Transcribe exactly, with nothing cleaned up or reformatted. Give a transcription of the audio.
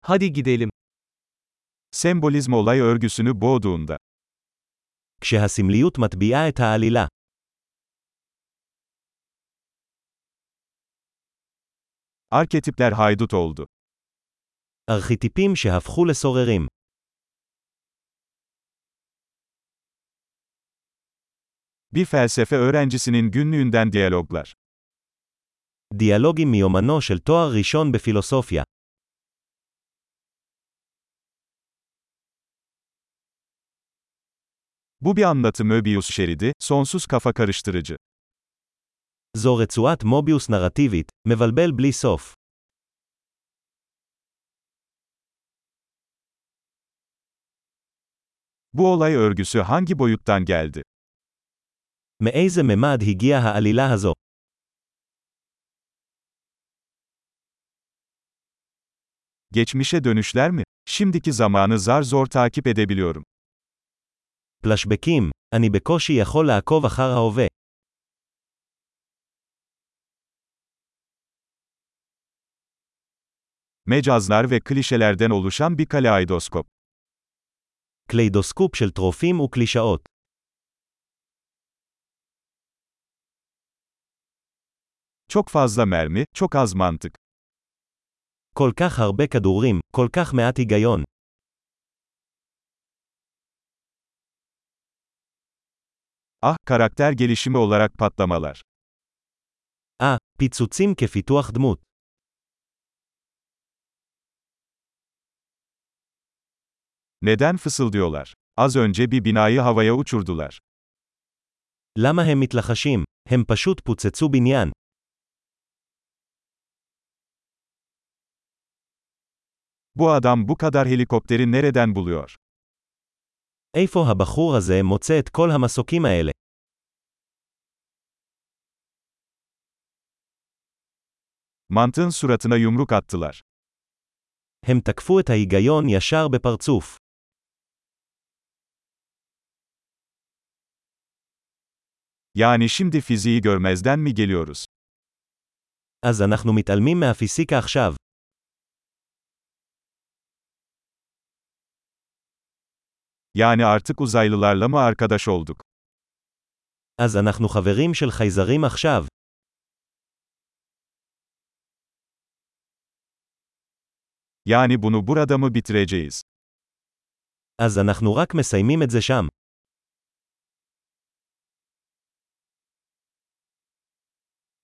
Hadi gidelim. Sembolizm olay örgüsünü boğduğunda. כשהסמליות מטביעה את העלילה. Arketipler haydut oldu. ארכיטיפים שהפכו לסוררים. Bir felsefe öğrencisinin günlüğünden diyaloglar. דיאלוגים מיומנו של תואר ראשון בפילוסופיה. Bu bir anlatı Möbius şeridi, sonsuz kafa karıştırıcı. זו רצועת מוביוס נרטיבית, מבלבל בלי סוף. Bu olay örgüsü hangi boyuttan geldi? מאיזה ממד הגיעה העלילה הזו? Geçmişe dönüşler mi? Şimdiki zamanı zar zor takip edebiliyorum. פלשבקים, אני בקושי יכול לעקוב אחר ההווה. Mecazlar ve klişelerden oluşan bir kaleidoskop. קליידוסקופ של טרופים וקלישאות. Çok fazla mermi, çok az mantık. כל כך הרבה כדורים, כל כך מעט היגיון. Ah, karakter gelişimi olarak patlamalar. אה, פיצוצים כפיתוח דמות. Neden fısıldıyorlar? Az önce bir binayı havaya uçurdular. למה הם מתלחשים? הם פשוט פוצצו בניין. Bu adam bu kadar helikopteri nereden buluyor? איפה הבחור הזה מוצא את כל המסוקים האלה? Mantığın suratına yumruk attılar. הם תקפו את ההיגיון ישר בפרצוף. Yani şimdi fiziği görmezden mi geliyoruz? אז אנחנו מתעלמים מהפיזיקה עכשיו. Yani artık uzaylılarla mı arkadaş olduk? אז אנחנו חברים של חייזרים עכשיו. Yani bunu burada mı bitireceğiz? אז אנחנו רק מסיימים את זה שם.